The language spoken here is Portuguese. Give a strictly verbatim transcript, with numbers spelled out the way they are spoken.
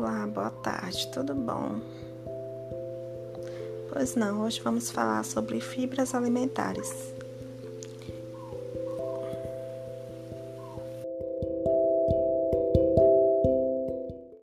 Olá, boa tarde, tudo bom? Pois não, hoje vamos falar sobre fibras alimentares.